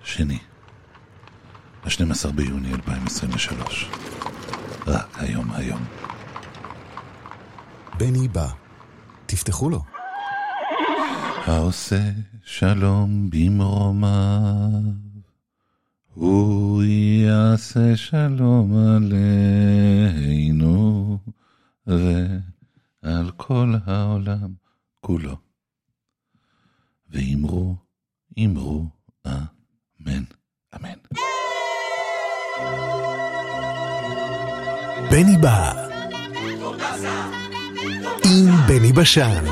שני, ה-12 ביוני 2023. רק היום. בני בא, תפתחו לו. העושה שלום במרומיו, הוא יעשה שלום עלינו ועל כל העולם כולו. ואמרו, אמן, אמן. בני בא עם בני בשן.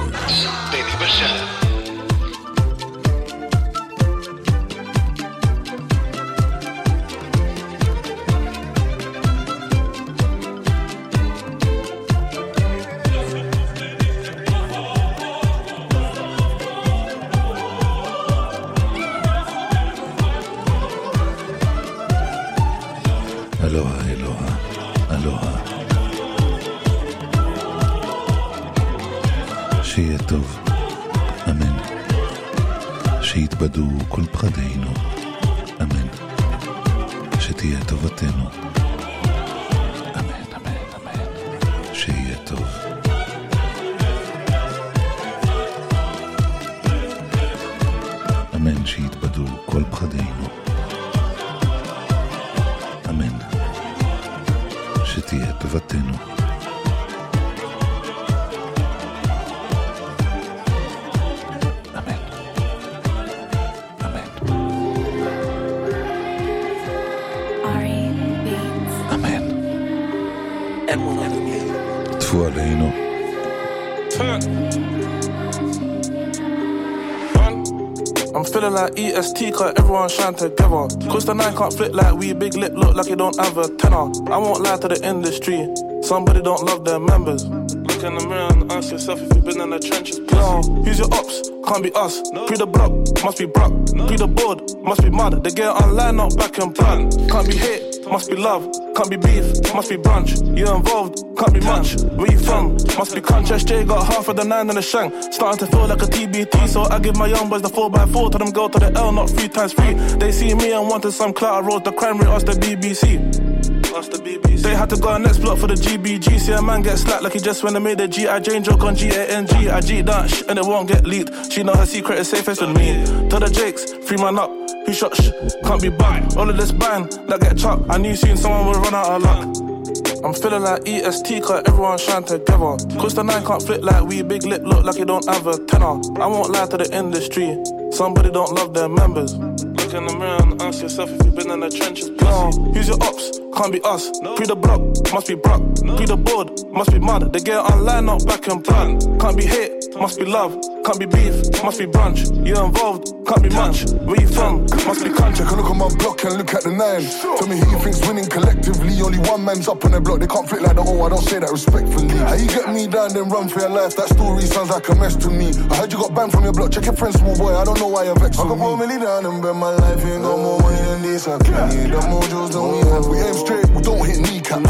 אלוהה. שיהיה טוב, אמן. שיתבדו כל פחדינו, אמן. שתהיה טובתנו, אמן. שיהיה טוב. אמן. שיתבדו כל פחדינו, אמן. שתהיה טובתנו. אמן. אמן. טפו עלינו. I'm feeling like EST cause everyone shine together. Cause the nine can't flip like we big lip look like you don't have a tenor. I won't lie to the industry, somebody don't love their members. Look in the mirror and ask yourself if you've been in the trenches. No, who's your ops? Can't be us. Pre the block, must be Brock. Pre the board, must be mud. They get online, not back and plan. Can't be hate, must be love. Can't be beef, must be brunch. You involved, can't be much. Where you from? Must be crunch. SJ got half of the 9 in the shank. Starting to feel like a TBT, so I give my young boys the 4x4. Tell them go to the L, not 3 times 3. They see me and wanted some clout. I wrote the crime rate, ask the BBC. They had to go on next block for the GBG. See a man get slapped like he just when they made the G.I. Jane joke on GANG. I G that and it won't get leaked. She know her secret is safest with me. Tell the Jakes, 3 man up. Who shot can't be back. All of this band that get chopped. I knew soon someone would run out of luck. I'm feeling like EST cause everyone shine together. Cause the 9 can't flip like we big lip look like you don't have a tenor. I won't lie to the industry, somebody don't love their members. Look in the mirror and ask yourself if you've been in the trenches. No, who's your ops? Can't be us. Pre the block, must be Brock. Pre the board, must be mud. They get online, not back and plan. Can't be hate, must be love. Can't be beef, must be brunch. You involved, can't be much. Where you from? Must be country. Can look at my block and look at the 9. Tell me who you think's winning collectively. Only one man's up on their block. They can't flick like the O. I don't say that respectfully. How you get me down then run for your life? That story sounds like a mess to me. I heard you got banned from your block. Check your friend, small boy. I don't know why you're vexed with me. I got 4 million down and bet my life. You ain't got more money than this. I can't need the mojos than we have. We aim straight, we don't hit kneecaps.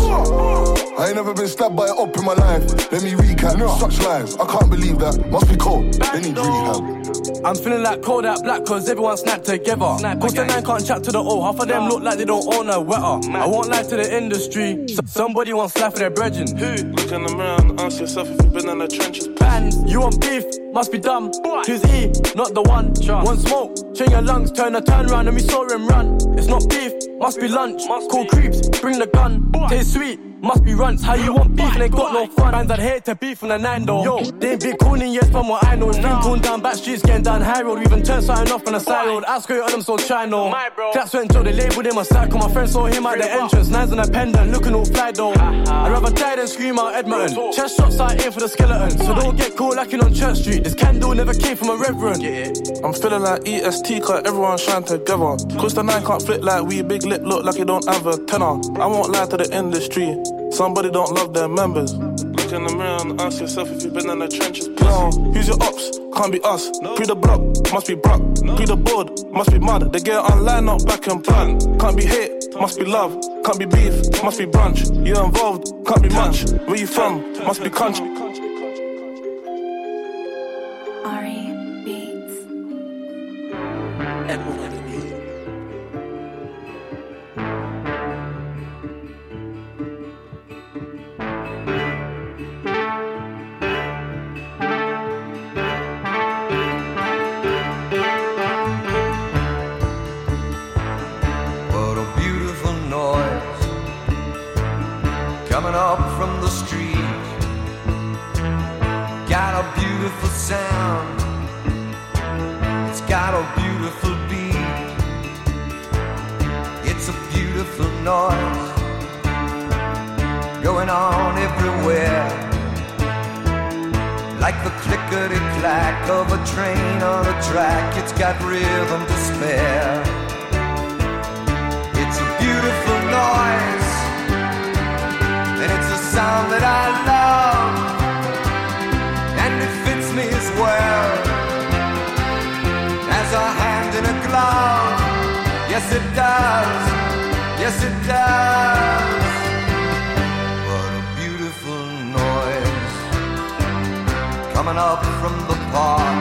I ain't never been stabbed by an op in my life. Let me recap. Such lies, I can't believe that. Must be cold, they need rehab. I'm feeling like cold out black cause everyone snapped together. Cause the 9 can't chat to the O. Half of them look like they don't own a wetter. I won't lie to the industry, somebody wants life for their brethren. Who? Look in the mirror and ask yourself if you've been in the trenches. Bands, you want beef, must be dumb. Who's E? Not the one. One smoke, chain your lungs, turn round and we saw him run. It's not beef, must be lunch. Call creeps, bring the gun. Taste sweet, must be runts. How you want beef and they got no fun? Bands I'd hate to beef from the 9 though. Yo, they ain't big cooning yet from what I know. It's been cooled down back streets, getting down high road. We even turned something off on the side road. I square on them so try no. That's when Joe, they labelled him a psycho. My friend saw him at the entrance. 9's on a pendant, looking all fly though. I'd rather die than scream out Edmonton. Chest shots I aim for the skeleton. So don't get caught lacking on Church Street. This candle never came from a reverend. I'm feeling like EST cause everyone shine together. Cause the 9 can't flip like we big lip look like you don't have a tenor. I won't lie to the industry, somebody don't love their members. Look in the mirror and ask yourself if you've been in the trenches. No, who's your ops? Can't be us. Pre the block, must be Brock. Pre the board, must be mud. They get online, not back and plan. Can't be hate, must be love. Can't be beef, must be brunch. You involved, can't be much. Where you from? Must be country. beautiful beat. It's a beautiful noise going on everywhere, like the clickety-clack of a train on a track. It's got rhythm to spare. It's a beautiful noise, and it's a sound that I love, and it fits me as well as a hand in a glove. Yes, it does. Yes, it does. What a beautiful noise coming up from the park.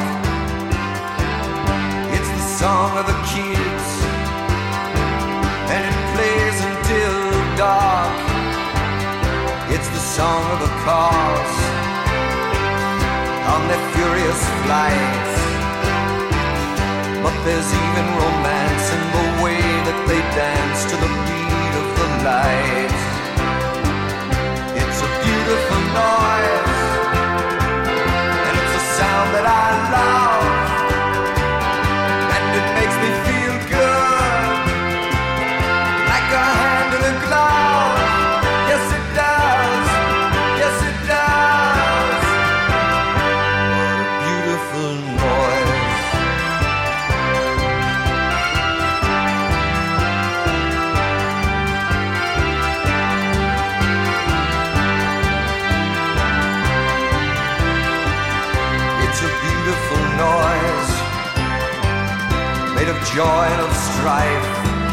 It's the song of the kids, and it plays until dark. It's the song of the cars on their furious flights. But there's even romance in the way that they dance to the beat of the light. It's a beautiful noise, and it's a sound that I love, and it makes me feel good, like a hand in a glove. Yes, it does. Yes, it does. What a beautiful noise. Noise made of joy and of strife,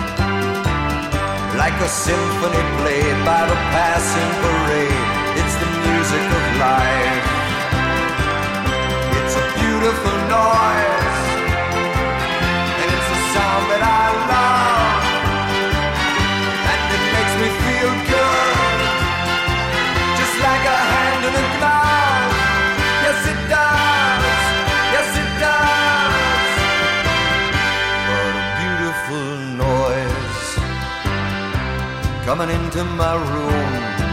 like a symphony played by the passing parade. It's the music of life. It's a beautiful noise, and it's a sound that I love, and it makes me feel good, just like a hand in a glove. Yes, it does. Yes, it does. What a beautiful noise coming into my room,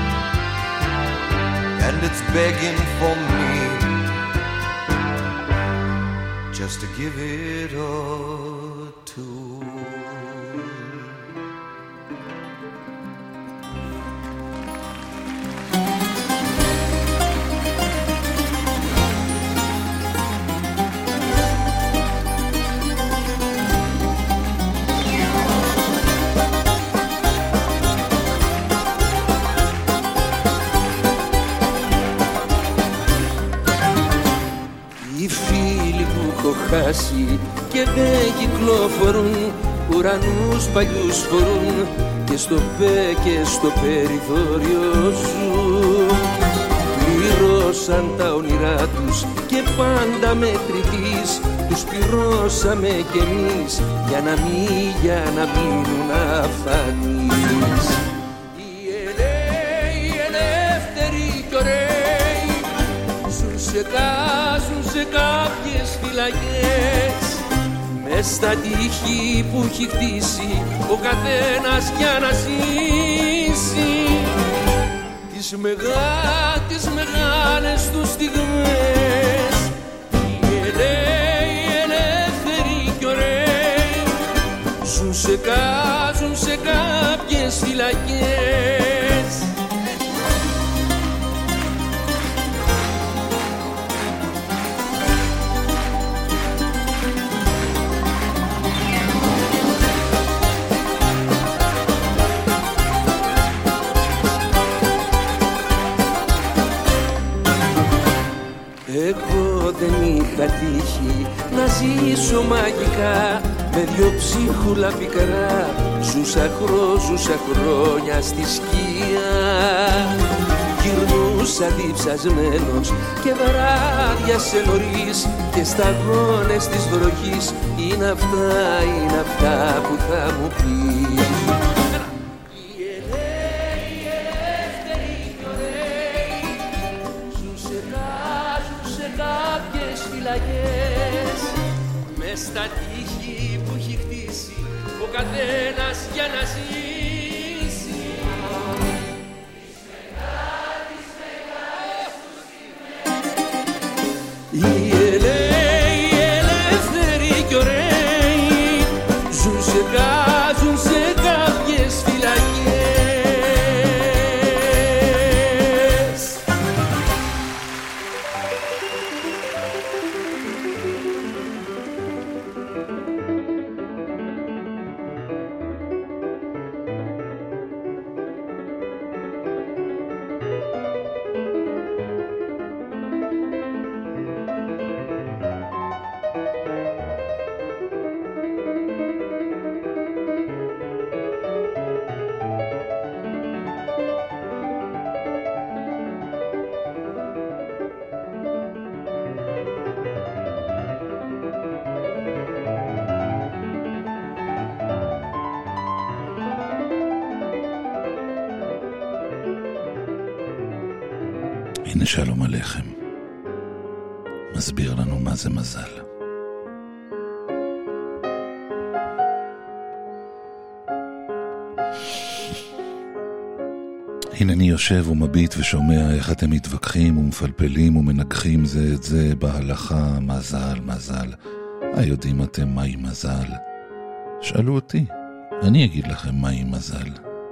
and it's begging for me just to give it a tune. Και δεν κυκλοφορούν, ουρανούς παλιούς φορούν και στο πέ και στο περιθώριο ζουν. Πληρώσαν τα όνειρά τους και πάντα μετρητής τους πληρώσαμε κι εμείς για να μείνουν αφανείς. Οι ελεύθεροι κι ωραίοι ζουν σε κάποιες φυλακές, μες στα τείχη που έχει χτίσει ο καθένας για να ζήσει τις μεγάλες τους στιγμές. Οι ελεύθεροι κι ωραίοι ζουν σε κάποιες φυλακές. Εγώ δεν είχα τύχει να ζήσω μαγικά, με δυο ψίχουλα πικρά ζούσα χρόνια στη σκιά. Γυρνούσα διψασμένος και βράδιασε νωρίς και σταγόνες της βροχής είναι αυτά που θα μου πεις. Μες στα τείχη που έχει χτίσει ο καθένας για να ζήσει οι ελεύθεροι κι ωραίοι στεγάζουν σε κάποιες φυλακές. הנה שלום עליכם, מסביר לנו מה זה מזל. הנה אני יושב ומביט ושומע איך אתם מתווכחים ומפלפלים ומנגחים זה את זה בהלכה. מזל, מזל. היודעים אתם מהי מזל? שאלו אותי, אני אגיד לכם מהי מזל.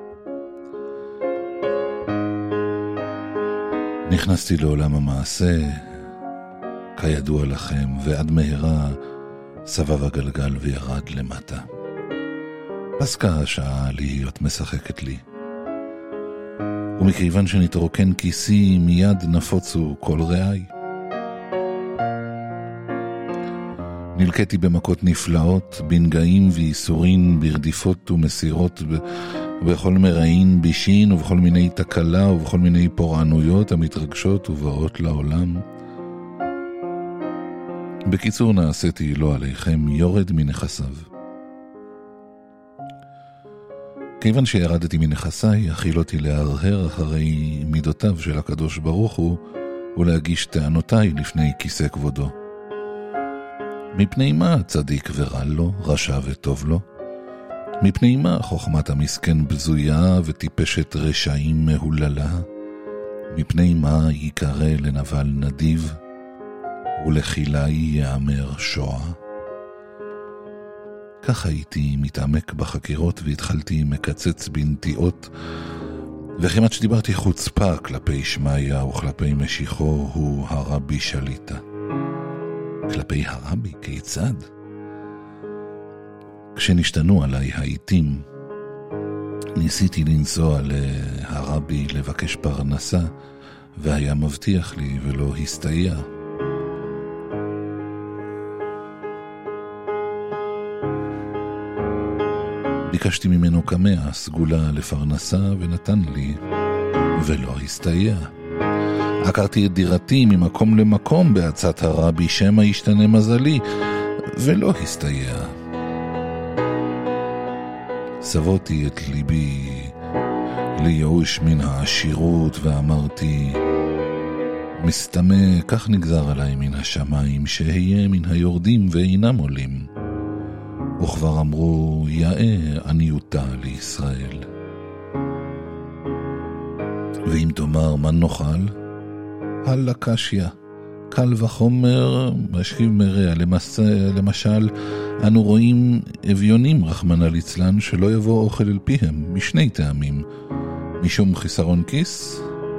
נכנסתי לעולם המעשה, כידוע לכם, ועד מהרה סבב הגלגל וירד למטה. פסקה השעה להיות משחקת לי. ומכיוון שנתרוקן כיסי, מיד נפוצו כל רעי. נלקטי במכות נפלאות, בנגעים ואיסורין, ברדיפות ומסירות, בכל מרעין בישין ובכל מיני תקלה ובכל מיני פורענויות המתרגשות ובאות לעולם. בקיצור, נעשיתי לא עליכם יורד מנכסיו. כיוון שירדתי מנכסיי, אכיל אותי להרהר אחרי מידותיו של הקדוש ברוך הוא ולהגיש טענותיי לפני כיסא כבודו. מפני מה צדיק ורע לו, רשע וטוב לו? מפני מה חוכמת המסכן בזויה וטיפשת רשעים מהוללה? מפני מה יקרא לנבל נדיב ולחילי יאמר שועה? כך הייתי מתעמק בחקירות והתחלתי מקצץ בנטיעות, וכמעט שדיברתי חוצפה כלפי שמעיה וכלפי משיחו הוא הרבי שליטה. כלפי הרבי כיצד? כשנשתנו עליי העיתים, ניסיתי לנסוע להרבי לבקש פרנסה, והיה מבטיח לי ולא הסתייע. ביקשתי ממנו כמאה סגולה לפרנסה ונתן לי, ולא הסתייע. עקרתי את דירתי ממקום למקום בעצת הרבי שמא ישתנה מזלי, ולא הסתייע. סבותי את ליבי לייאוש מן העשירות ואמרתי, מסתמה כך נגזר עליי מן השמיים שאהיה מן היורדים ואינם עולים. וכבר אמרו יאה עניותה לישראל. ואם תאמר מה נאכל? הלאה קשיא, קל וחומר משכיב מרע. למשל, אנו רואים אביונים רחמנא ליצלן שלא יבוא אוכל אל פיהם משני טעמים, משום חיסרון כיס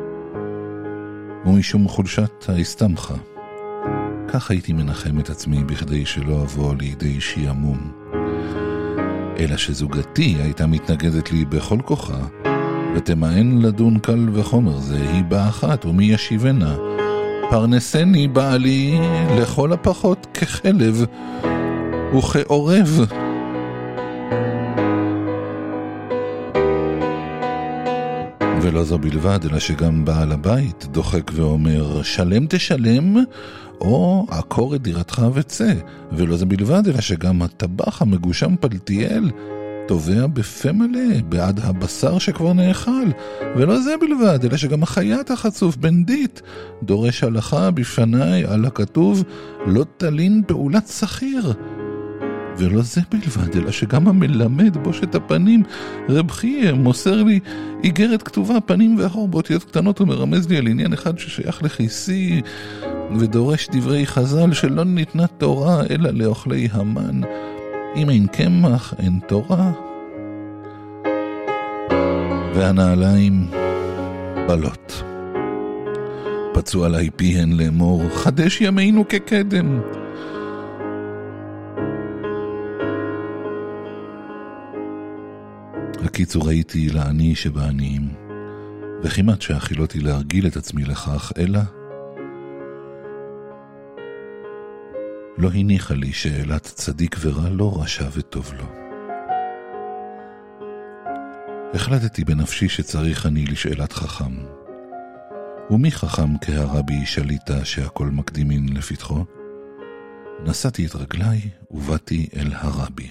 ומשום חולשת ההסתמכה. כך הייתי מנחם את עצמי בכדי שלא אבוא לידי שיעמום. אלא שזוגתי הייתה מתנגדת לי בכל כוחה, ותמאן לדון קל וחומר זה, היא באחת ומי ישיבנה. פרנסני בעלי לכל הפחות כחלב וכעורב. ולא זו בלבד, אלא שגם בעל הבית דוחק ואומר שלם תשלם או עקור את דירתך וצא. ולא זו בלבד, אלא שגם הטבח המגושם פלטיאל תובע בפה מלא בעד הבשר שכבר נאכל. ולא זה בלבד, אלא שגם החייט החצוף בנדית דורש הלכה בפניי על הכתוב לא תלין פעולת שכיר. ולא זה בלבד, אלא שגם המלמד בושת הפנים רב חייה מוסר לי איגרת כתובה פנים ואחור באותיות קטנות ומרמז לי על עניין אחד ששייך לכיסי ודורש דברי חז"ל שלא ניתנה תורה אלא לאוכלי המן. אם אין קמח, אין תורה. והנעליים בלות. פצו עליי פיהן לאמור, חדש ימינו כקדם. הקיצור הייתי לעני שבעניים, וכמעט שהחילותי להרגיל את עצמי לכך, אלא לא הניחה לי שאלת צדיק ורע לא רשע וטוב לו. החלטתי בנפשי שצריך אני לשאלת חכם. ומי חכם כהרבי שליטה שהכל מקדימין לפתחו? נסעתי את רגליי ובאתי אל הרבי.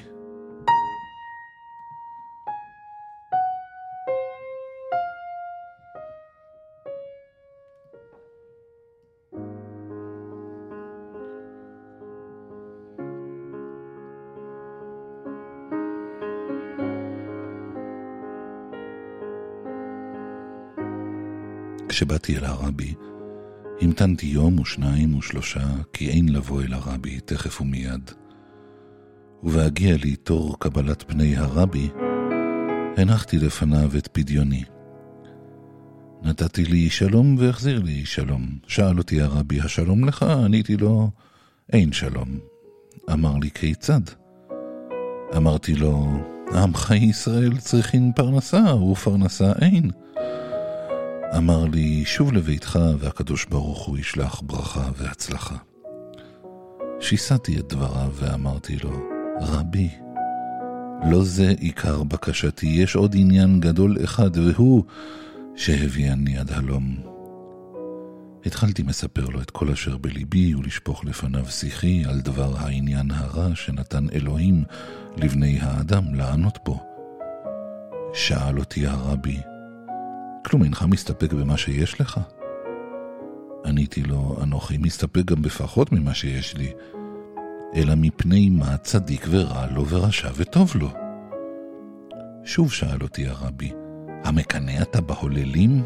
כשבאתי אל הרבי, המתנתי יום ושניים ושלושה, כי אין לבוא אל הרבי תכף ומיד. ובהגיע לי תור קבלת פני הרבי, הנחתי לפניו את פדיוני. נתתי לי שלום והחזיר לי שלום. שאל אותי הרבי, השלום לך? עניתי לו, אין שלום. אמר לי, כיצד? אמרתי לו, עמך ישראל צריכים פרנסה, ופרנסה אין. אמר לי, שוב לביתך והקדוש ברוך הוא ישלח ברכה והצלחה. שיסעתי את דבריו ואמרתי לו, רבי, לא זה עיקר בקשתי, יש עוד עניין גדול אחד, והוא שהביאני עד הלום. התחלתי מספר לו את כל אשר בליבי ולשפוך לפניו שיחי על דבר העניין הרע שנתן אלוהים לבני האדם לענות פה. שאל אותי הרבי, כלום אינך מסתפק במה שיש לך? עניתי לו, אנוכי מסתפק גם בפחות ממה שיש לי, אלא מפני מה צדיק ורע לו ורשע וטוב לו. שוב שאל אותי הרבי, המקנא אתה בהוללים?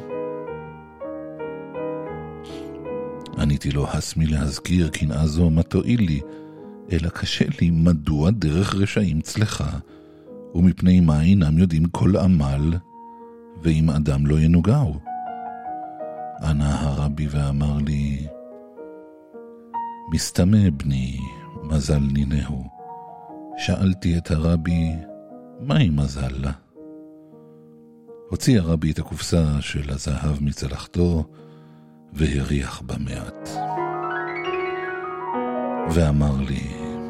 עניתי לו, הסמי להזכיר קנאה זו מה תועיל לי, אלא קשה לי מדוע דרך רשעים צלחה, ומפני מה אינם יודעים כל עמל, ואם אדם לא ינוגעו. ענה הרבי ואמר לי, מסתמא בני, מזל נינהו. שאלתי את הרבי, מהי מזל לה? הוציא הרבי את הקופסה של הזהב מצלחתו, והריח במעט. ואמר לי,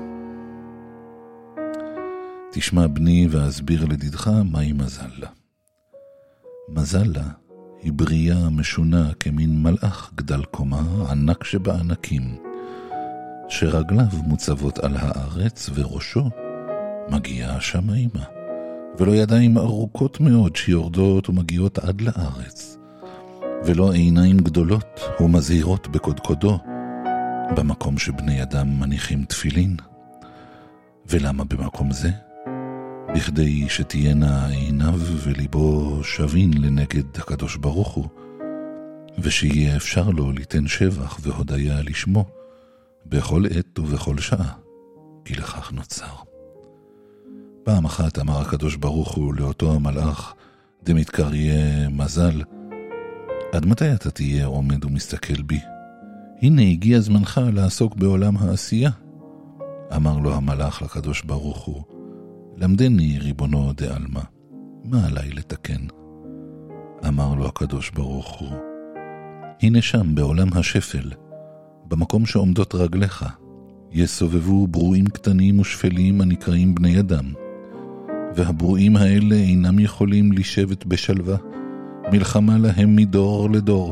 תשמע בני ואסביר לדידך מהי מזל לה. מזל לה היא בריאה משונה כמין מלאך גדל קומה, ענק שבענקים, שרגליו מוצבות על הארץ וראשו מגיע השמיימה, ולא ידיים ארוכות מאוד שיורדות ומגיעות עד לארץ, ולא עיניים גדולות ומזהירות בקודקודו, במקום שבני אדם מניחים תפילין. ולמה במקום זה? בכדי שתהיינה עיניו וליבו שווין לנגד הקדוש ברוך הוא, ושיהיה אפשר לו ליתן שבח והודיה לשמו בכל עת ובכל שעה, כי לכך נוצר. פעם אחת אמר הקדוש ברוך הוא לאותו המלאך, דמתקריה מזל, עד מתי אתה תהיה עומד ומסתכל בי? הנה הגיע זמנך לעסוק בעולם העשייה. אמר לו המלאך לקדוש ברוך הוא, למדני ריבונו דעלמא, מה עליי לתקן? אמר לו הקדוש ברוך הוא, הנה שם בעולם השפל, במקום שעומדות רגליך, יסובבו ברואים קטנים ושפלים הנקראים בני אדם, והברואים האלה אינם יכולים לשבת בשלווה, מלחמה להם מדור לדור.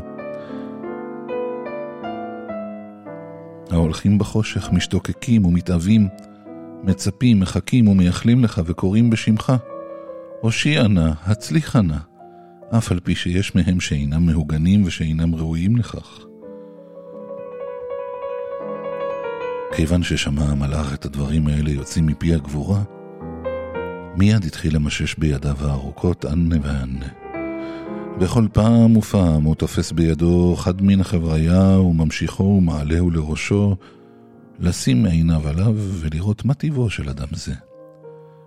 ההולכים בחושך משתוקקים ומתאבים, מצפים, מחכים ומייחלים לך וקוראים בשמך. הושיע נא, הצליח נא, אף על פי שיש מהם שאינם מהוגנים ושאינם ראויים לכך. כיוון ששמע המלאך את הדברים האלה יוצאים מפי הגבורה, מיד התחיל למשש בידיו הארוכות ענה וענה. בכל פעם ופעם הוא תופס בידו חד מן החבריה וממשיכו ומעלהו לראשו, לשים עיניו עליו ולראות מה טיבו של אדם זה.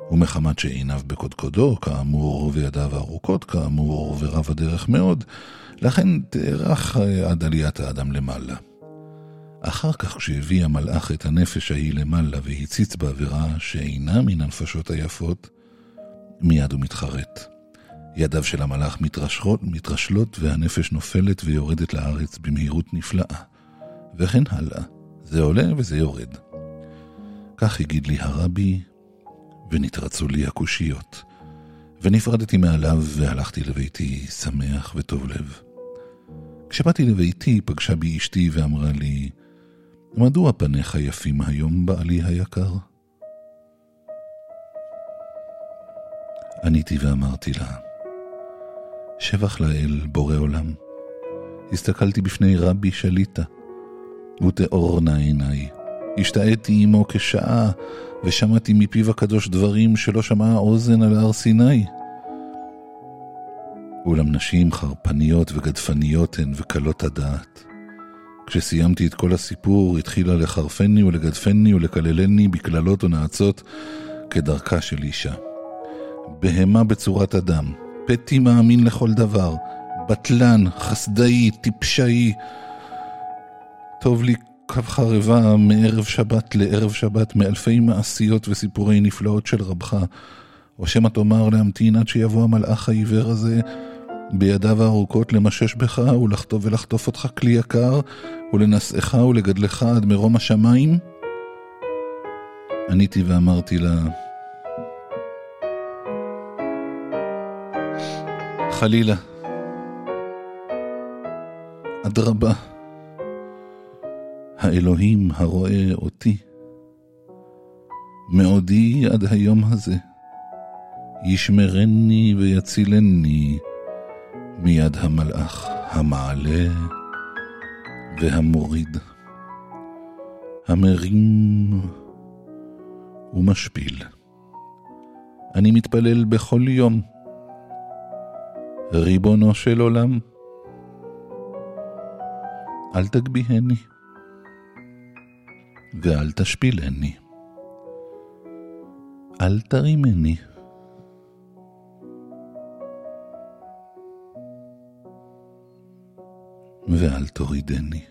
ומחמת שעיניו בקודקודו, כאמור, וידיו ארוכות, כאמור, ורב הדרך מאוד, לכן תארך עד עליית האדם למעלה. אחר כך כשהביא המלאך את הנפש ההיא למעלה והציץ בה וראה שאינה מן הנפשות היפות, מיד הוא מתחרט. ידיו של המלאך מתרשלות והנפש נופלת ויורדת לארץ במהירות נפלאה. וכן הלאה, זה עולה וזה יורד. כך הגיד לי הרבי, ונתרצו לי הקושיות. ונפרדתי מעליו והלכתי לביתי שמח וטוב לב. כשבאתי לביתי פגשה בי אשתי ואמרה לי, מדוע פניך יפים היום בעלי היקר? עניתי ואמרתי לה, שבח לאל בורא עולם. הסתכלתי בפני רבי שליטה, ותאורנה עיניי. השתעתי עמו כשעה, ושמעתי מפיו הקדוש דברים שלא שמעה אוזן על הר סיני. אולם נשים חרפניות וגדפניות הן וקלות הדעת. כשסיימתי את כל הסיפור, התחילה לחרפני ולגדפני ולקללני בקללות ונעצות כדרכה של אישה. בהמה בצורת אדם, פתי מאמין לכל דבר, בטלן, חסדאי, טיפשאי. טוב לי קו חרבה מערב שבת לערב שבת, מאלפי מעשיות וסיפורי נפלאות של רבך, או שמא תאמר להמתין עד שיבוא המלאך העיוור הזה בידיו הארוכות למשש בך ולחטוף אותך כלי יקר ולנשאך ולגדלך עד מרום השמיים? עניתי ואמרתי לה, חלילה, אדרבה, האלוהים הרואה אותי מעודי עד היום הזה ישמרני ויצילני מיד המלאך המעלה והמוריד, המרים ומשפיל. אני מתפלל בכל יום, ריבונו של עולם, אל תגביהני ואל תשפילני, אל תרימני ואל תורידני.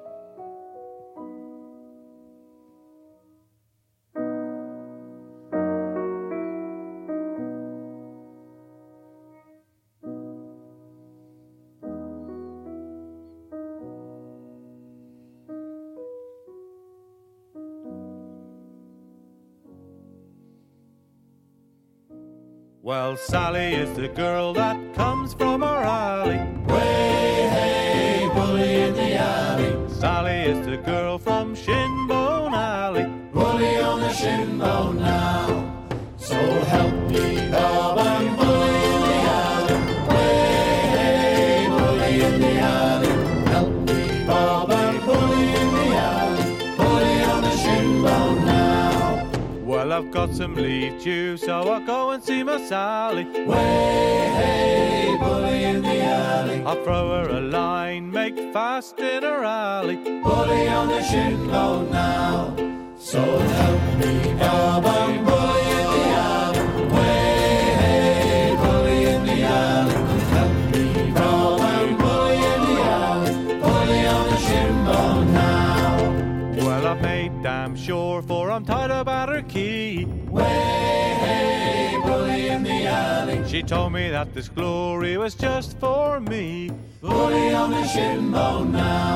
Well, Sally is the girl that comes from our alley. Way, hey, bully in the alley. Sally is the girl from Shinbone Alley. Bully on the shinbone now. So help me, Bob, I'm bully in the alley. Way, hey, bully in the alley. Help me, Bob, I'm bully in the alley. Bully on the shinbone now. Well, I've got some leave due, so I'll go and see my Sally. Way, hey, bully in the alley. I'll throw her a line, make fast in her alley. Bully on the shinbone now. So help me, Bob, I'm bully in the alley. Way, hey, bully in the alley. Help me, Bob, I'm bully in the alley. Bully on the shinbone now. Well, I've made damn sure, for I'm tired about her key. Way, hey, bully in the alley. She told me that this glory was just for me. Bully on the shinbone now.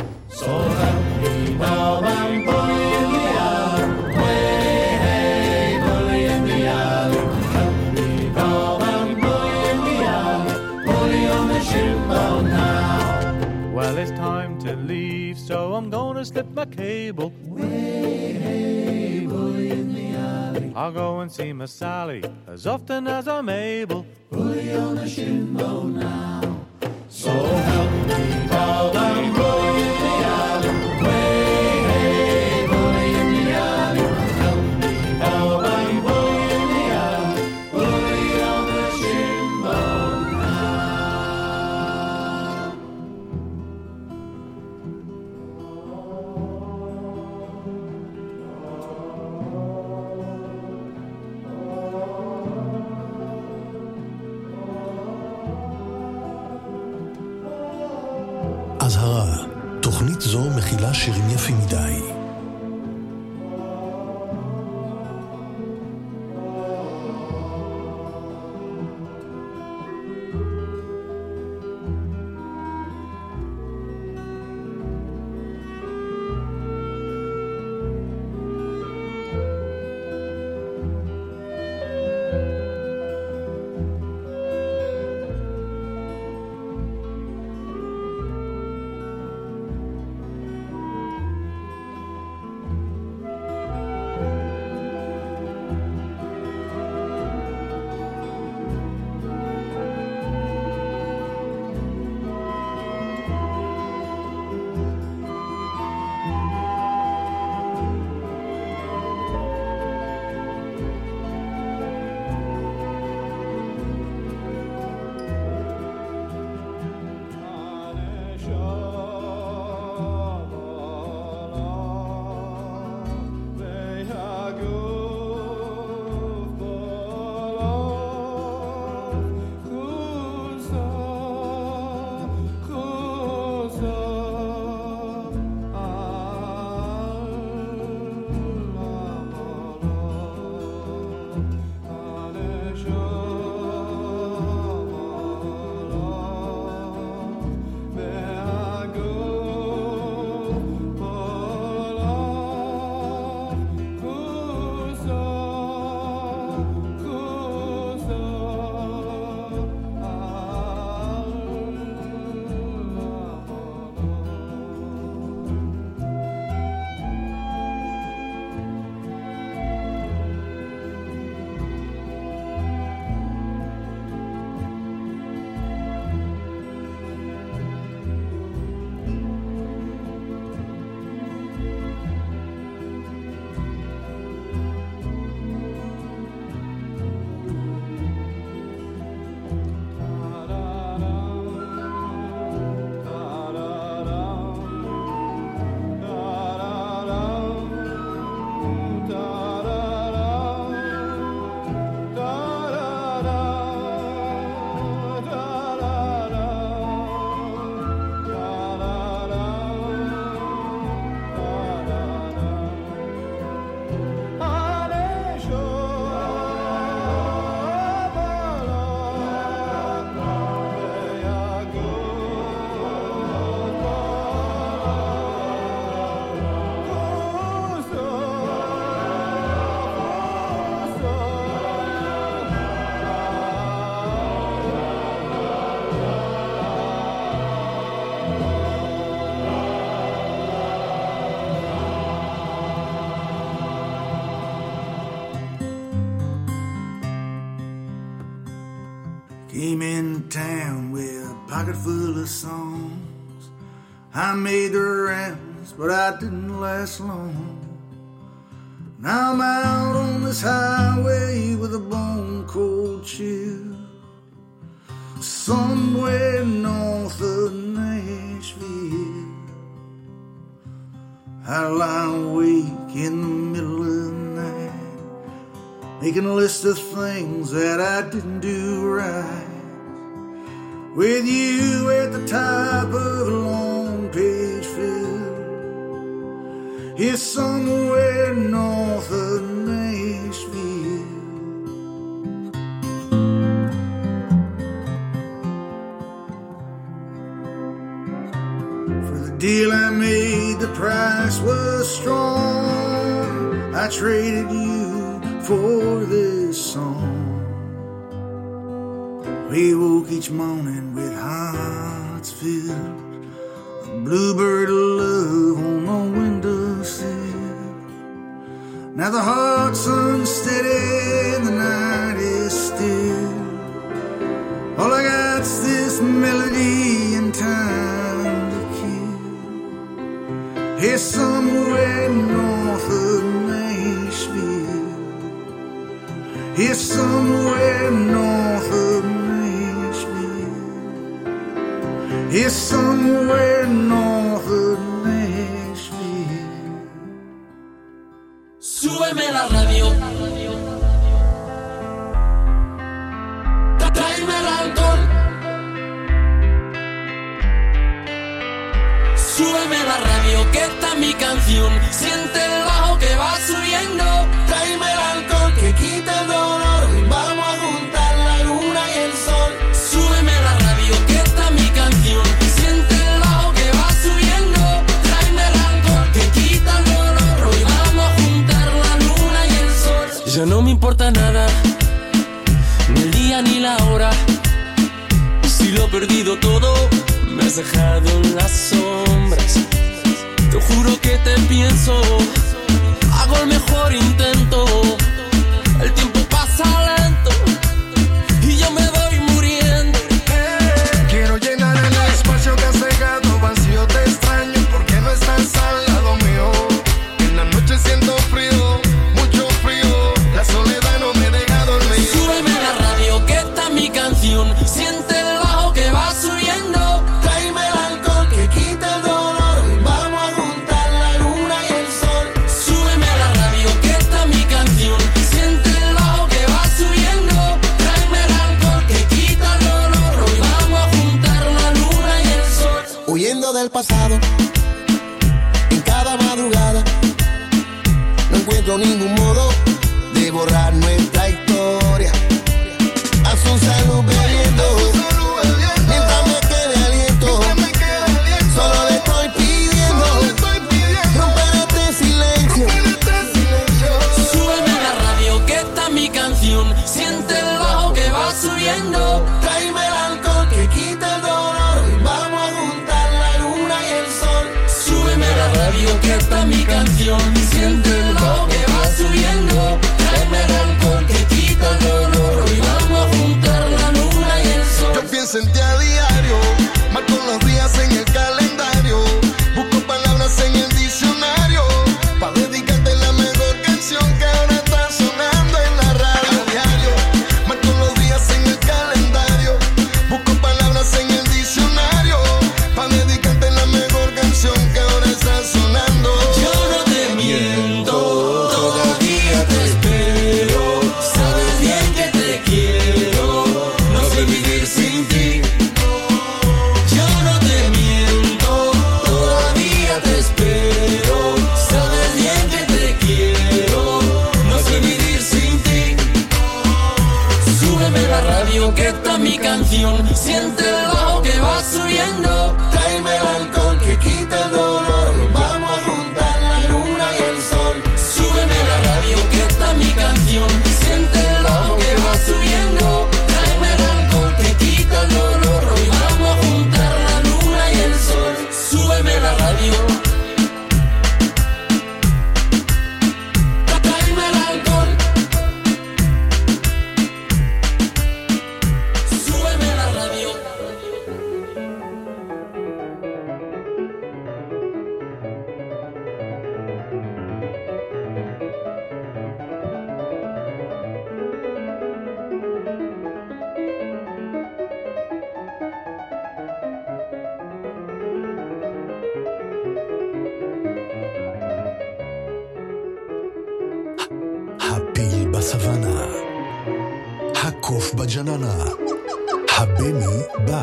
So help me, Bob, I'm bully in the alley. Way, hey, bully in the alley. Help me, Bob, I'm bully in the alley. Bully on the shinbone now. Well, it's time to leave, so I'm gonna slip my cable. Way, hey, bully in the alley. I'll go and see my Sally as often as I'm able. Bully on the shinbone now. So help me, Bob, I'm bully in the alley. Way, hey, bully in the alley. Help me, Bob, I'm bully in the alley. Bully on the shinbone now. תוכנית זו מכילה שירים יפים מדי. Came in town with a pocket full of songs. I made the rounds, but I didn't last long. Now I'm out on this highway with a bone cold chill, somewhere north of Nashville. I lie awake in the middle of the night, making a list of things that I didn't do right. With you at the top of a long page fill, here somewhere north of Nashville. For the deal I made, the price was strong. I traded you for this song. We woke each morning with hearts filled, a bluebird of love on the windowsill. Now the heart's unsteady and the night is still. All I got's this melody and time to kill. Here somewhere north of Nashville, here somewhere north of It's somewhere north of Nashville. Súbeme la radio, tráeme el alcohol. Súbeme la radio que esta es mi canción. Siente el bajo que va subiendo. Tráeme el alcohol que quita el dolor. Vamos a juntar la luna y el sol. Súbeme la radio que esta es mi canción. Siente el bajo que va subiendo. Tráeme el alcohol que quita el dolor. Hoy vamos a juntar la luna y el sol. Ya no me importa nada, ni el día ni la hora. Si lo he perdido todo, me has dejado en las sombras. Te juro que te pienso, hago el mejor intento. El tiempo pasa lento y yo me voy muriendo. Quiero llenar el espacio que has dejado vacío. Te extraño porque no estás al lado mío. En la noche siento frío, mucho frío. La soledad no me deja dormir. Súbeme la radio que esta es mi canción. Siente el bajo que va subiendo. Tráeme el alcohol que quita el dolor. Vamos a juntar la luna y el sol. Súbeme la radio que esta es mi canción. Siente el bajo que va subiendo. Tráeme el alcohol que quita el dolor. Hoy vamos a juntar la luna y el sol. Huyendo del pasado, en cada madrugada, no encuentro ningún modo de borrar nuestra historia. A su salud bebiendo, mientras me quede aliento, solo le estoy pidiendo romper este silencio. Súbeme la radio que esta es mi canción. Siente el bajo que va subiendo. Tráeme el alcohol que quita el dolor. Vamos a juntar la luna y el sol. Súbeme la radio que esta es mi canción. Siente el bajo que va subiendo. Tráeme el alcohol que quita el dolor. Hoy vamos a juntar la luna y el sol. Yo pienso en ti a diario, marco los días en el calendario, busco palabras en el diccionario, pa' dedicarte la mejor canción que ahora está sonando en la radio. A diario, marco los días en el calendario, busco palabras en el diccionario, pa' dedicarte la mejor canción que ahora está sonando. Yo no te miento, todavía te espero. Sabes bien que te quiero, no sé vivir sin ti. Yo no te miento, todavía te espero. Sabes bien que te quiero, no sé vivir sin ti. Súbeme la radio que esta es mi canción. Siente el bajo que va subiendo. Tráeme el alcohol que quita el dolor. Vamos a juntar la luna y el sol. Súbeme la radio que esta es mi canción. Siente el bajo que va subiendo. Tráeme el alcohol que quita el dolor. Hoy vamos a juntar la luna y el sol. Súbeme la radio. Tráeme el alcohol. Súbeme la radio. הפיל בסוואנה, הקוף בג'ננה, הבני בא.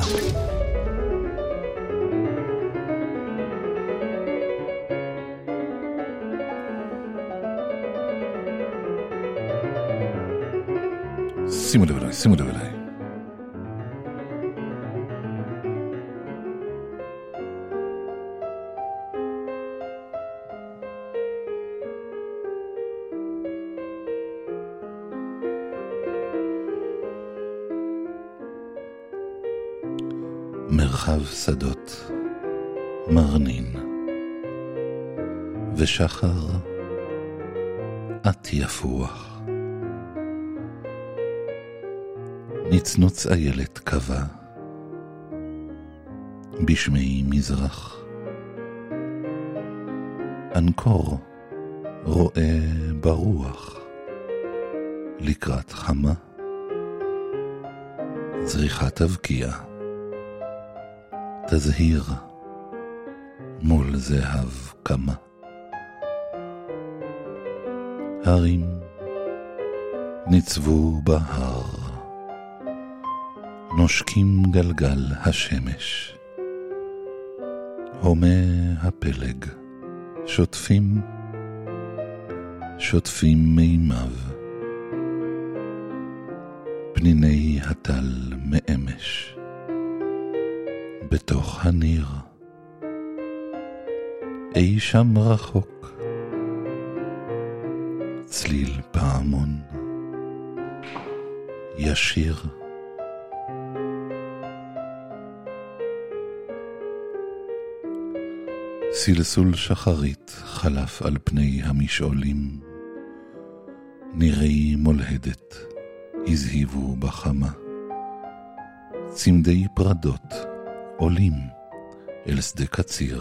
שימו לב אליי, שימו לב אליי. מרחב שדות מרנין ושחר את יפוח, נצנוץ איילת קבע בשמי מזרח, אנקור רואה ברוח לקראת חמה, זריחת אבקיע תזהיר מול זהב קמה, הרים ניצבו בהר, נושקים גלגל השמש, הומה הפלג, שוטפים מימיו, פניני הטל מאמש, בתוך הניר, אי שם רחוק, צליל פעמון, ישיר, סלסול שחרית חלף על פני המשעולים, נירי מולהדת הזהיבו בחמה, צמדי פרדות עולים אל שדה קציר,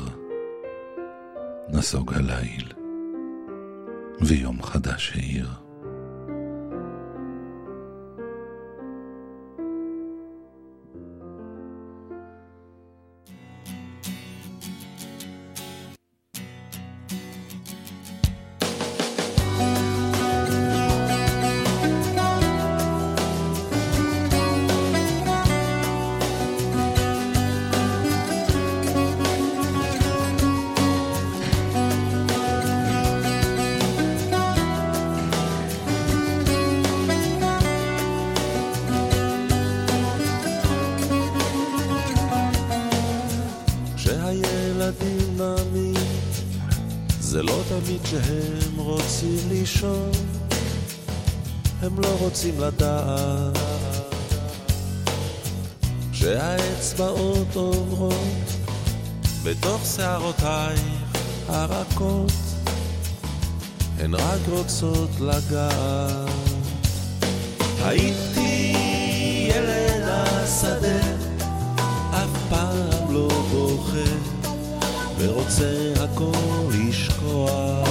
נסוג הליל ויום חדש העיר. שהם רוצים לישון, הם לא רוצים לדעת שהאצבעות עוברות בתוך שערותייך הרכות, הן רק רוצות לגעת. הייתי ילד השדה, אף פעם לא בוחר ורוצה הכל לשכוח,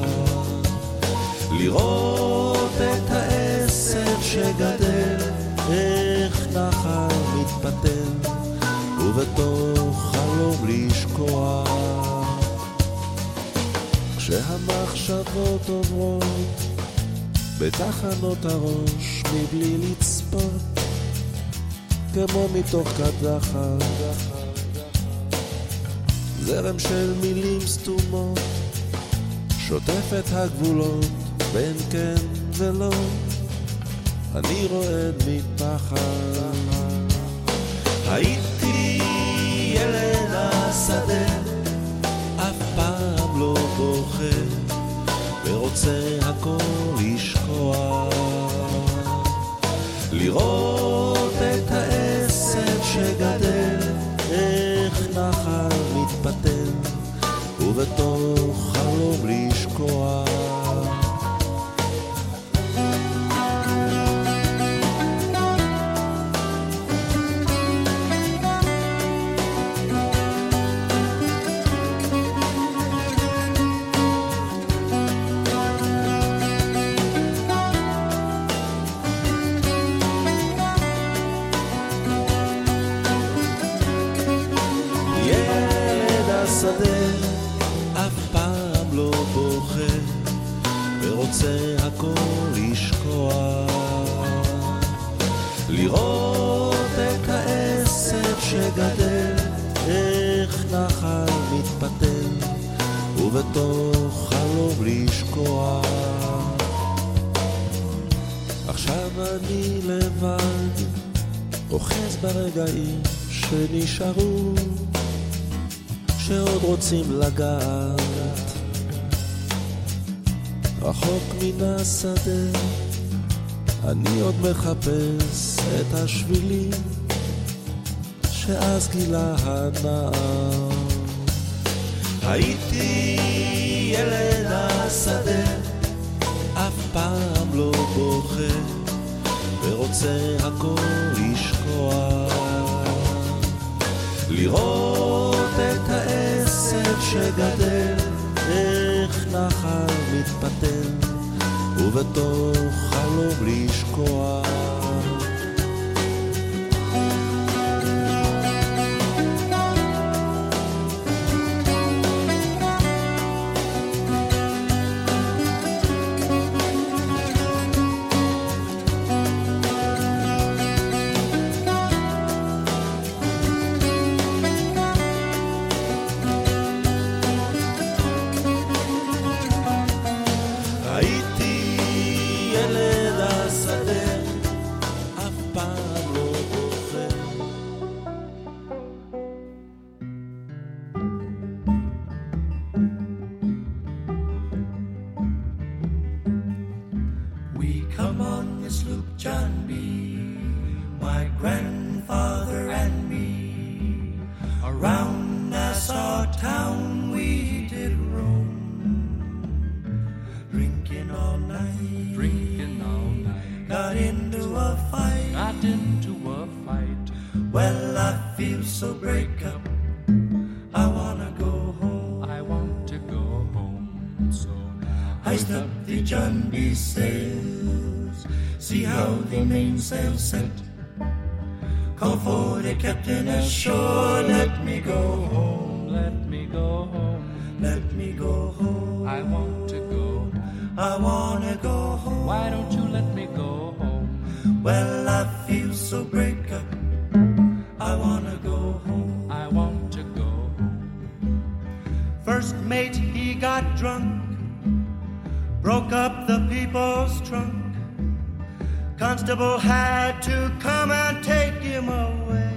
לראות את העשב שגדל, איך נחל מתפתל, ובתוך חלום לשכוח. כשהמחשבות עוברות בתחנות הראש מבלי לצפות, כמו מתוך קדחת, זרם של מילים סתומות שוטף את הגבולות בין כן ולא, אני רועד מפחד. הייתי ילד השדה, אף פעם לא בוחר ורוצה הכל לשכוח, לראות את העשב שגדל, איך נחל מתפתל, ובתוך חלום לשכוח. ורוצה הכל לשכוח, לראות את העשב שגדל, איך נחל מתפתל, ובתוך חלום לשכוח. עכשיו אני לבד, אוחז ברגעים שנשארו, שעוד רוצים לגעת, רחוק מן השדה, אני עוד מחפש את השבילים שאז גילה הנער. הייתי ילד השדה, אף פעם לא בוחר ורוצה הכל לשכוח, לראות את העשב שגדל, איך נחל מתפתל, ובתוך חלום לשכוח. a fight. Got into a fight. Well, I feel so break up. I wanna go home. I want to go home. So now hoist up the John B. sails. See how the mainsail set. Call for the captain ashore. Let me go home. Let me go home. Let me go home. I want to go home. I wanna go home. Why don't you let me go home? Well, I feel so break up. I wanna go home. I want to go home. First mate, he got drunk, broke up the people's trunk. Constable had to come and take him away.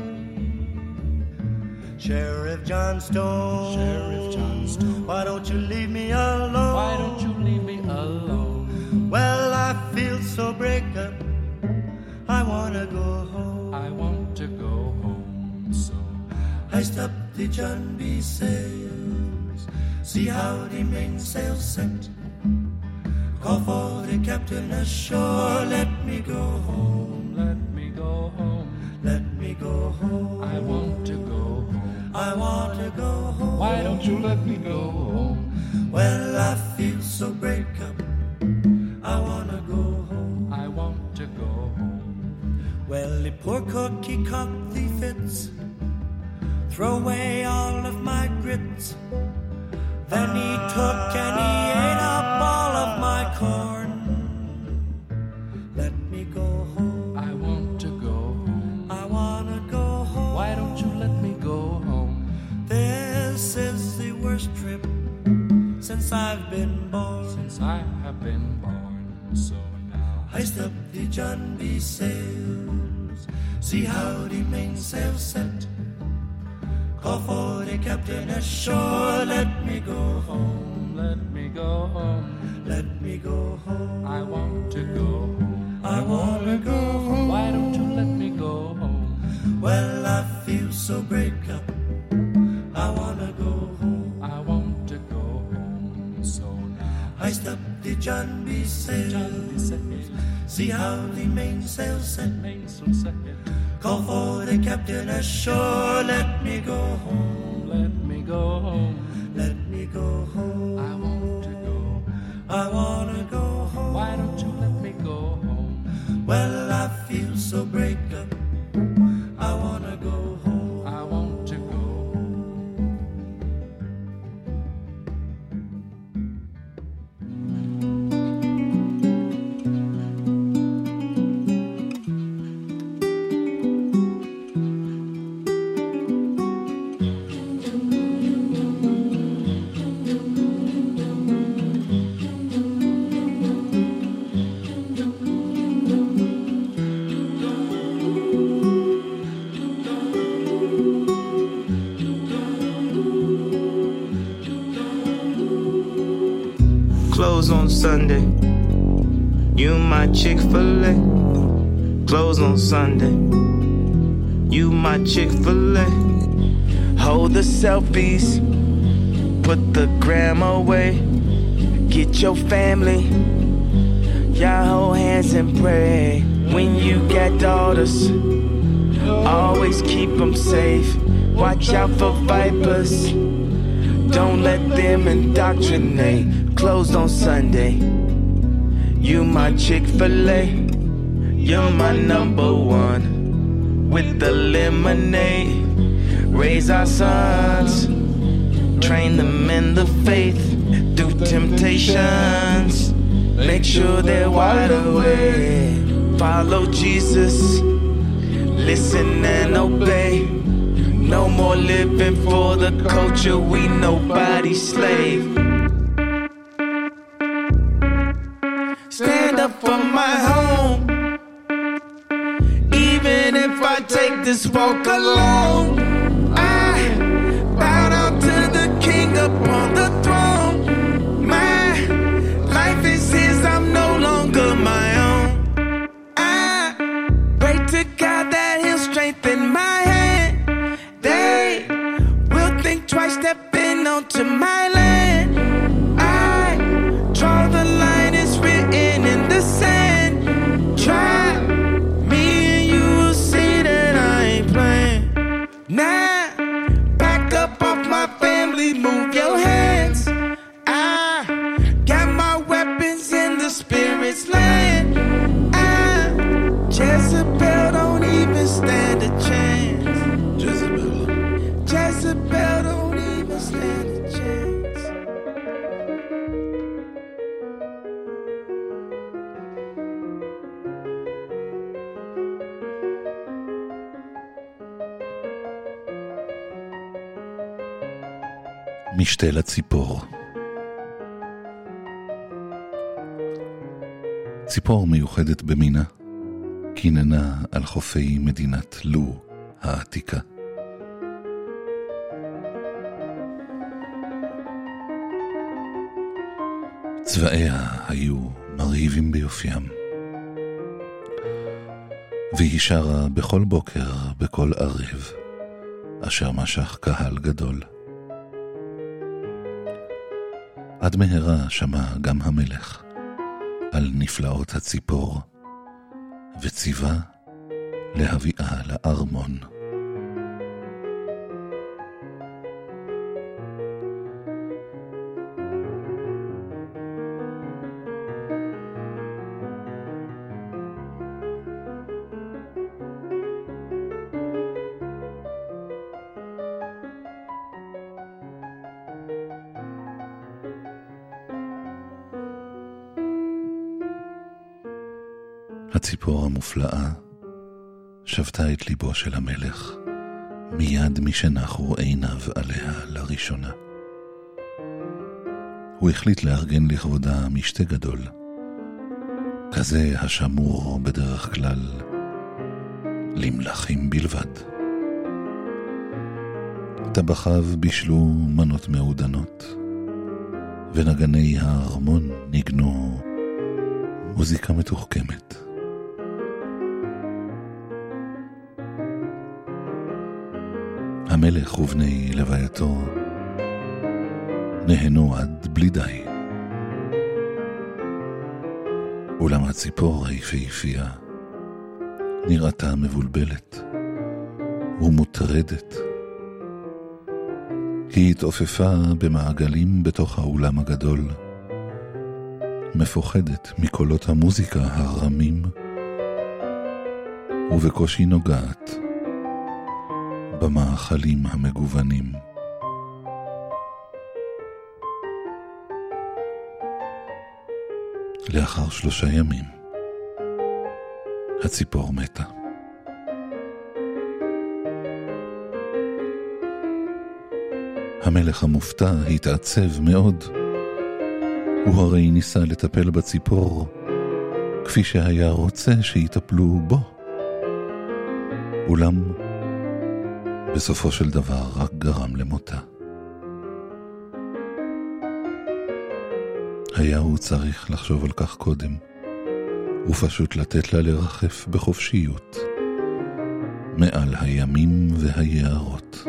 Sheriff Johnstone, Sheriff Johnstone, why don't you leave me alone? Why don't you leave me alone? Well, I feel so break up. I wanna go home. I want to go home. So hoist up the John B. sails. See how the mainsail set. Call for the captain ashore. Let me go home. Let me go home. Let me go home. I want to go home. I want to go home. Why don't you let me go home? Well, I feel so break up. I wanna go home. I want to go home. Well, the poor cook, he caught the fits. Throw away all of my grits. Then he took and he ate up all of my corn. Let me go home. I want to go home. I wanna go home. Why don't you let me go home? This is the worst trip since I've been born. Since I have been born. So now hoist up the John B. sails. See how the mainsail set. Call for the captain ashore. Let me go home. Let me go home. Let me go home. I want to go home. I wanna go home. Why don't you let me go home? Well, I feel so break up. I wanna go home. I want to go home. So now hoist up the John B. sails. See how the mainsail set. Mainsail set. Call for the captain ashore. Let me go home. Let me go home. Let me go home. I want to go home. I wanna go home. Why don't you let me go home? Well, I feel so break up. I wanna go home. I want to go home. Close on Sunday, you my Chick-fil-A. Close on Sunday, you my Chick-fil-A. Hold the selfies, put the gram away. Get your family, y'all hold hands and pray. When you got daughters, always keep them safe. Watch out for vipers, don't let them indoctrinate. Closed on Sunday, you my Chick-fil-A. You're my number one. With the lemonade, raise our sons, train them in the faith through temptations. Make sure they're wide awake. Follow Jesus, listen and obey. No more living for the culture, we nobody's slave. Stand up for my home, even if I take this walk alone. I bow down to the King upon the throne. My life is his, I'm no longer my own. I pray to God that he'll strengthen my hand. They will think twice stepping onto my land. I draw the line, it's written in the sand. Try Jezebel don't even stand a chance. Jezebel don't even stand a chance. משתה לציפור. ציפור מיוחדת במינה, כיננה על חופי מדינת לו העתיקה. צבעיה היו מרהיבים ביופיים, והיא שרה בכל בוקר, בכל ערב, אשר משך קהל גדול. עד מהרה שמע גם המלך על נפלאות הציפור, וציווה להביאה לארמון. הציפור המופלאה שבתה את ליבו של המלך מיד משנחו עיניו עליה לראשונה. הוא החליט לארגן לכבודה משתה גדול, כזה השמור בדרך כלל למלכים בלבד. טבחיו בישלו מנות מעודנות, ונגני הארמון ניגנו מוזיקה מתוחכמת. המלך ובני לווייתו נהנו עד בלי די. אולם הציפור היפהפייה נראתה מבולבלת ומוטרדת. היא התעופפה במעגלים בתוך האולם הגדול, מפוחדת מקולות המוזיקה הרמים, ובקושי נוגעת במאכלים המגוונים. לאחר 3 ימים הציפור מתה. המלך המופתע התעצב מאוד. הוא הרי ניסה לטפל בציפור כפי שהיה רוצה שיטפלו בו. אולם בסופו של דבר רק גרם למותה. היה הוא צריך לחשוב על כך קודם, ופשוט לתת לה לרחף בחופשיות מעל הימים והיערות.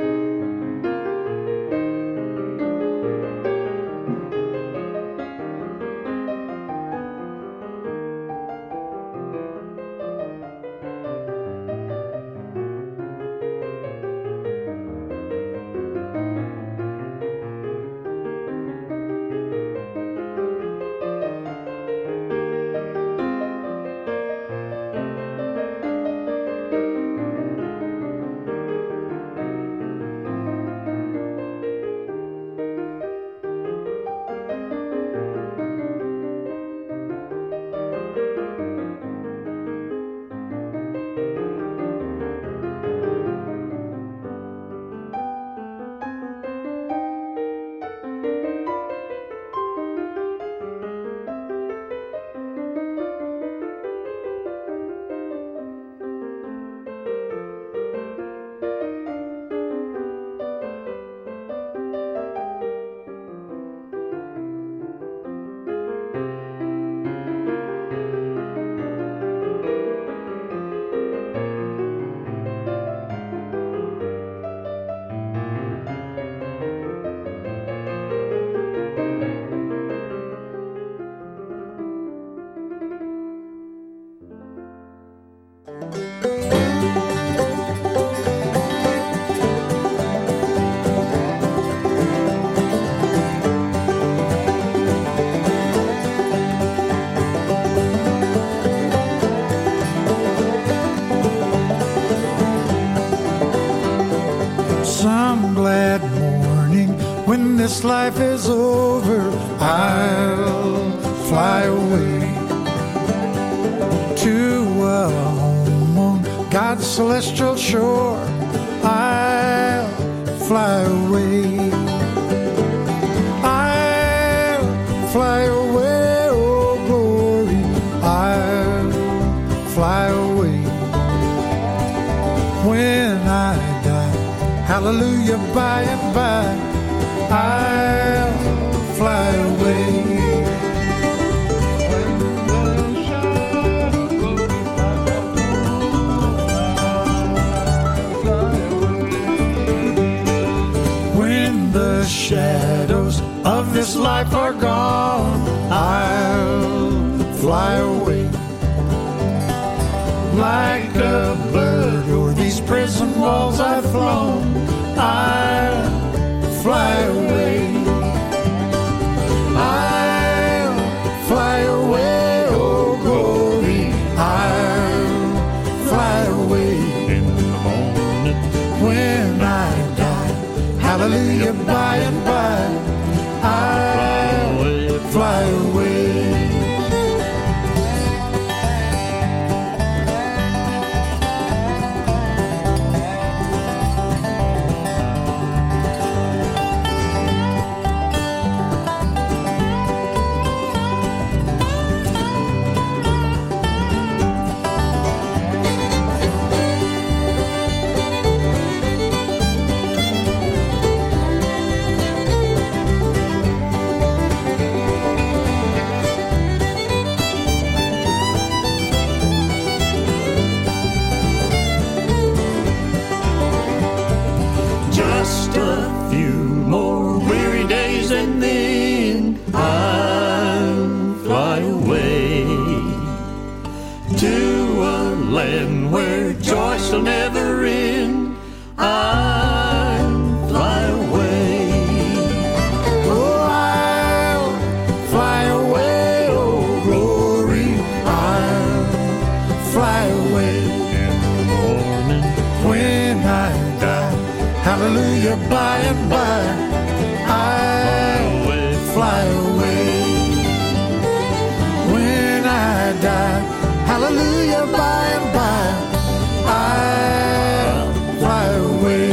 When this life is over, I'll fly away to a home on God's celestial shore. I'll fly away. I'll fly away, oh glory. I'll fly away. When I die, hallelujah, by and by, I'll fly away. When the shadows of this life are gone, I'll fly away. Like a bird o'er these prison walls I've flown, I'll fly away. I'll fly away, oh glory. I'll fly away in the morning when I die. Hallelujah, by and by, I'll fly away. Hallelujah, by and by, I'll fly away. When I die, hallelujah, by and by, I'll fly away.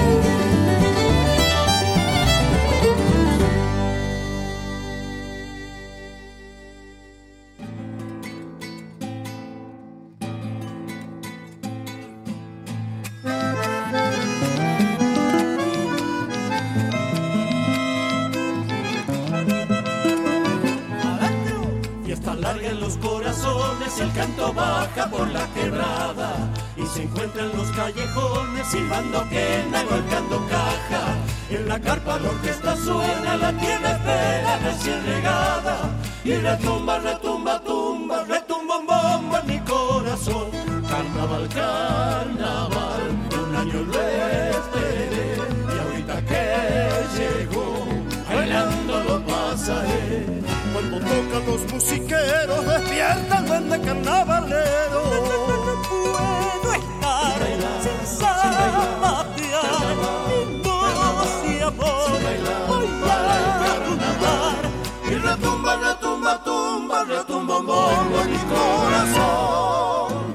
El canto baja por la quebrada y se encuentra en los callejones silbando quena y golpeando caja. En la carpa la orquesta suena, la tierra espera recién regada y retumba, retumba, tumba, retumba un bombo en mi corazón. Carnaval, carnaval, un año lo esperé y ahorita que llegó, bailando lo pasaré. Cuando tocan los musiqueros, despierta el duende carnavalero. No puedo estar sin zapatear mi voz y amor. Voy a tumbar y retumba, retumba, tumba, retumba un bombo en mi corazón.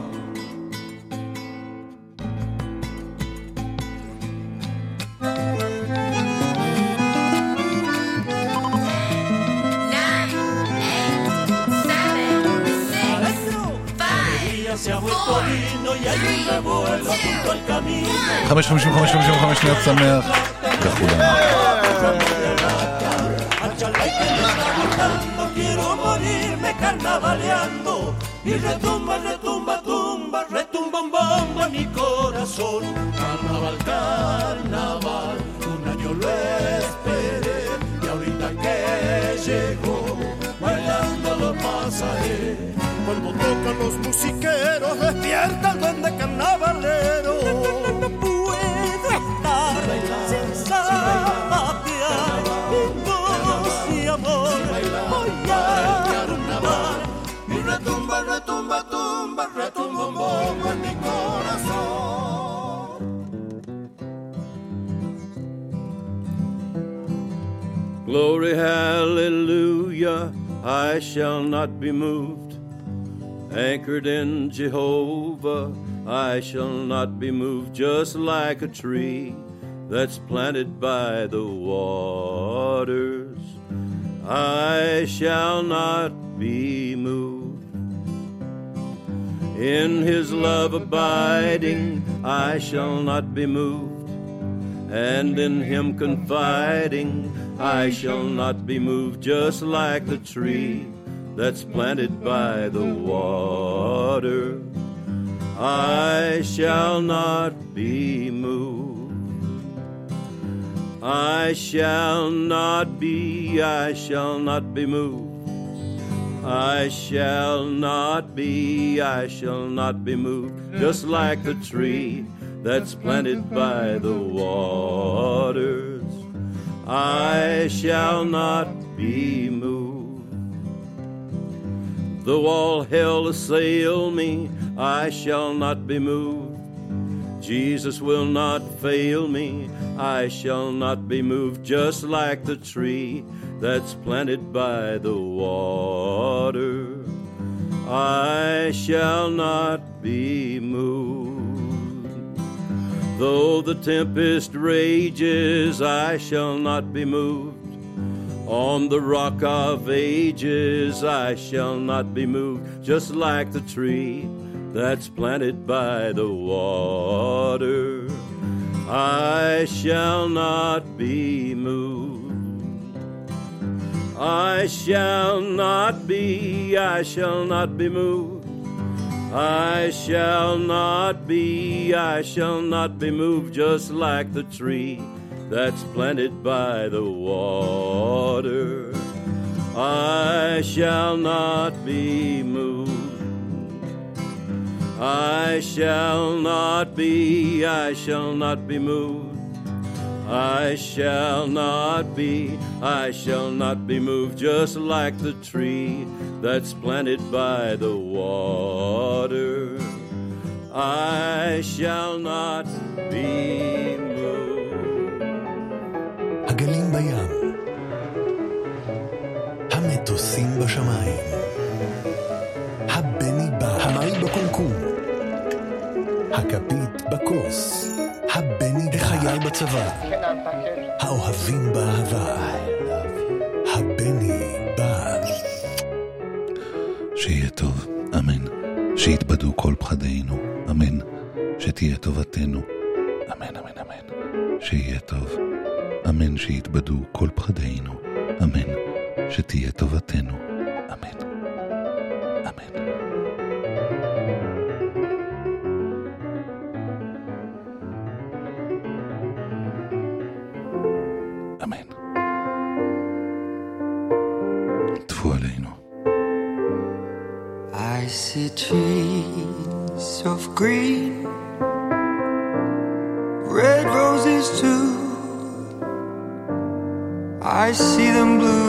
Se ha vuelto vino y hay un revuelo junto al camino. 5:55 שניות שמח לכולם. Quiero morirme carnavaleando y retumba, retumba, tumba, retumba un bombo en mi corazón. Carnaval, carnaval, un año lo esperé y ahorita que llegó, bailando lo pasaré. Cuando tocan los musiqueros, despierta el duende carnavalero. No puedo estar sin zapatear mi voz y amor. Voy a carnaval y retumba, retumba, tumba, retumba un bombo en mi corazón. Glory, hallelujah, I shall not be moved. Anchored in Jehovah, I shall not be moved. Just like a tree that's planted by the waters, I shall not be moved. In his love abiding, I shall not be moved. And in him confiding, I shall not be moved. Just like the tree that's planted by the water, I shall not be moved. I shall not be moved. I shall not be moved. Just like the tree that's planted by the waters, I shall not be moved. Though all hell assail me, I shall not be moved. Jesus will not fail me, I shall not be moved. Just like the tree that's planted by the water, I shall not be moved. Though the tempest rages, I shall not be moved. On the rock of ages, I shall not be moved. Just like the tree that's planted by the water, I shall not be moved. I shall not be moved. I shall not be moved. Just like the tree that's planted by the water, I shall not be moved. I shall not be moved. I shall not be moved. Just like the tree that's planted by the water, I shall not be moved. הגלים בים, המטוסים בשמיים, הבני בא, המים בקומקום, הכפית בכוס, הבני החייל בצבא, האוהבים באהבה, הבני בא. שיהיה טוב, אמן. שיתבדו כל פחדינו, אמן. שתהיה טובתנו, אמן, אמן, אמן. שיהיה טוב, אמן. שיתבדו כל פחדינו, אמן. שתהיה טובתנו, אמן, אמן. אמן. טפו עלינו. I see trees of green, red roses too. I see them blue